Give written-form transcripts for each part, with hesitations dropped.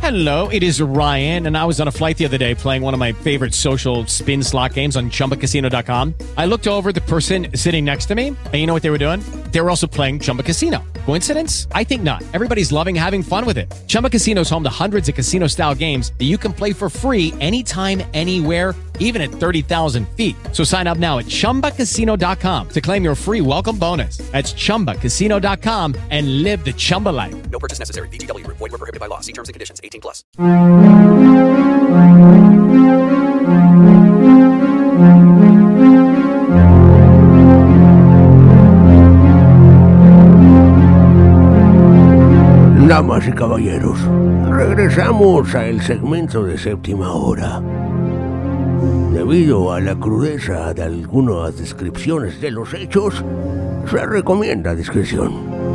Hello, it is Ryan, and I was on a flight the other day playing one of my favorite social spin slot games on ChumbaCasino.com. I looked over at the person sitting next to me, and you know what they were doing? They were also playing Chumba Casino. Coincidence? I think not. Everybody's loving having fun with it. Chumba Casino is home to hundreds of casino-style games that you can play for free anytime, anywhere, even at 30,000 feet. So sign up now at ChumbaCasino.com to claim your free welcome bonus. That's ChumbaCasino.com and live the Chumba life. No purchase necessary. VGW. Void where prohibited by law. See terms and conditions. 18 plus. Damas y caballeros, regresamos al segmento de séptima hora. Debido a la crudeza de algunas descripciones de los hechos, se recomienda discreción.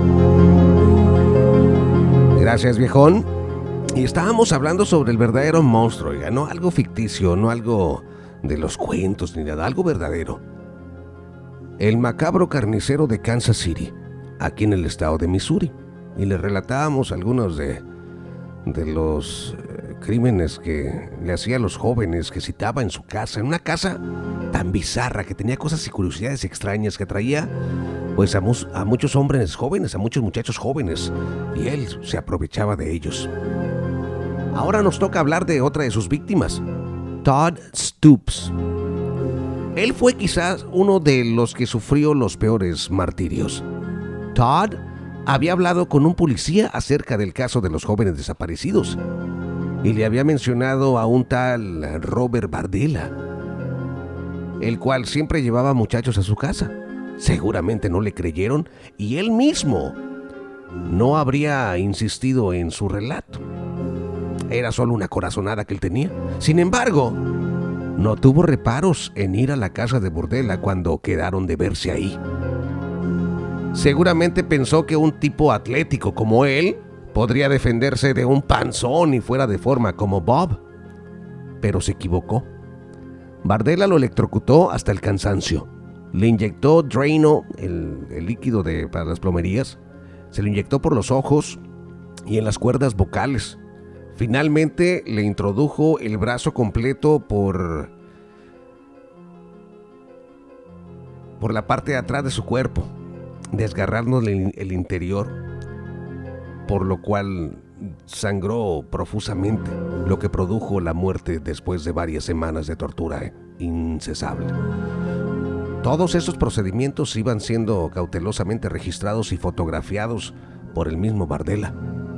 Gracias, viejón. Y estábamos hablando sobre el verdadero monstruo, oiga, no algo ficticio, no algo de los cuentos ni nada, algo verdadero. El macabro carnicero de Kansas City, aquí en el estado de Missouri. Y le relatábamos algunos de los crímenes que le hacía a los jóvenes que citaba en su casa, en una casa tan bizarra que tenía cosas y curiosidades extrañas, que traía pues a muchos hombres jóvenes, a muchos muchachos jóvenes, y él se aprovechaba de ellos. Ahora nos toca hablar de otra de sus víctimas, Todd Stoops. Él fue quizás uno de los que sufrió los peores martirios. Todd había hablado con un policía acerca del caso de los jóvenes desaparecidos y le había mencionado a un tal Robert Bardella, el cual siempre llevaba muchachos a su casa. Seguramente no le creyeron y él mismo no habría insistido en su relato. Era solo una corazonada que él tenía. Sin embargo, no tuvo reparos en ir a la casa de Bardella cuando quedaron de verse ahí. Seguramente pensó que un tipo atlético como él podría defenderse de un panzón y fuera de forma como Bob. Pero se equivocó. Bardella lo electrocutó hasta el cansancio. Le inyectó Drano, el líquido para las plomerías. Se lo inyectó por los ojos y en las cuerdas vocales. Finalmente le introdujo el brazo completo por la parte de atrás de su cuerpo, desgarrándole el interior, por lo cual sangró profusamente, lo que produjo la muerte después de varias semanas de tortura incesable. Todos estos procedimientos iban siendo cautelosamente registrados y fotografiados por el mismo Bardella.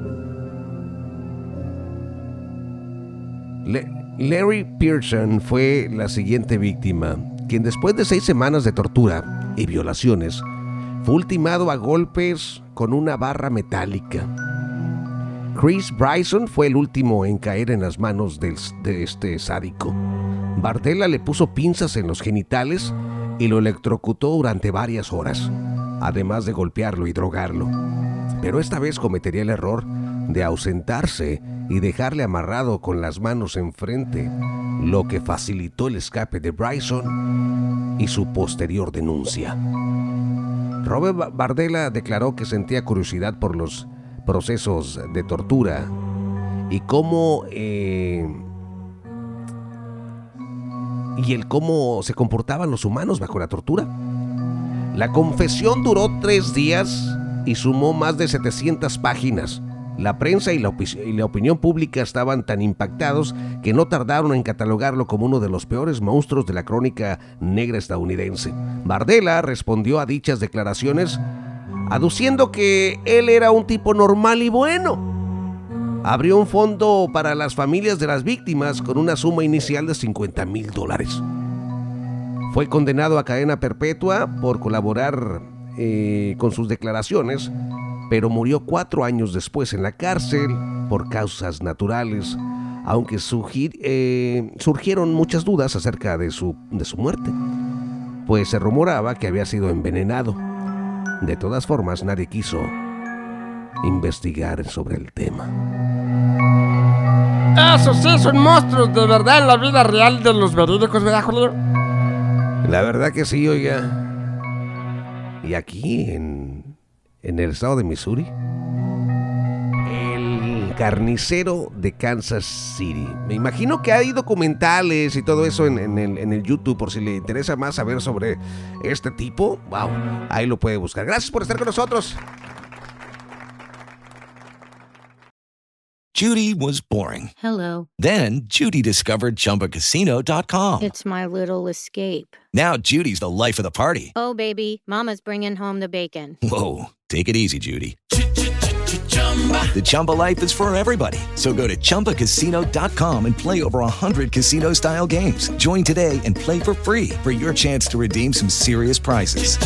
Larry Pearson fue la siguiente víctima, quien después de 6 semanas de tortura y violaciones fue ultimado a golpes con una barra metálica. Chris Bryson fue el último en caer en las manos de este sádico. Bardella le puso pinzas en los genitales y lo electrocutó durante varias horas, además de golpearlo y drogarlo. Pero esta vez cometería el error de ausentarse y dejarle amarrado con las manos enfrente, lo que facilitó el escape de Bryson y su posterior denuncia. Robert Bardella declaró que sentía curiosidad por los procesos de tortura y cómo se comportaban los humanos bajo la tortura. La confesión duró 3 días y sumó más de 700 páginas. La prensa y la opinión pública estaban tan impactados que no tardaron en catalogarlo como uno de los peores monstruos de la crónica negra estadounidense. Bardella respondió a dichas declaraciones aduciendo que él era un tipo normal y bueno. Abrió un fondo para las familias de las víctimas con una suma inicial de $50,000. Fue condenado a cadena perpetua por colaborar con sus declaraciones, pero murió 4 años después en la cárcel por causas naturales, aunque surgieron muchas dudas acerca de su muerte, pues se rumoraba que había sido envenenado. De todas formas, nadie quiso investigar sobre el tema. Esos sí son monstruos de verdad en la vida real de los verídicos, ¿verdad, Julio? La verdad que sí, oiga. Y aquí en el estado de Missouri, el carnicero de Kansas City. Me imagino que hay documentales y todo eso en el YouTube, por si le interesa más saber sobre este tipo. Wow, ahí lo puede buscar. Gracias por estar con nosotros. Judy was boring. Hello. Then Judy discovered ChumbaCasino.com. It's my little escape. Now Judy's the life of the party. Oh, baby, mama's bringing home the bacon. Whoa, take it easy, Judy. The Chumba life is for everybody. So go to ChumbaCasino.com and play over 100 casino-style games. Join today and play for free for your chance to redeem some serious prizes.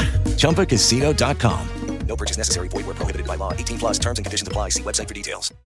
ChumbaCasino.com. No purchase necessary. Void where prohibited by law. 18+ terms and conditions apply. See website for details.